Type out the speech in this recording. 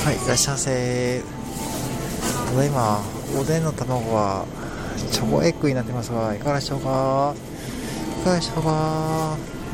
はい、いらっしゃいませ。ただいま、おでんの卵はチョコエッグになってますが、いかがでしょうか。いかがでしょうか。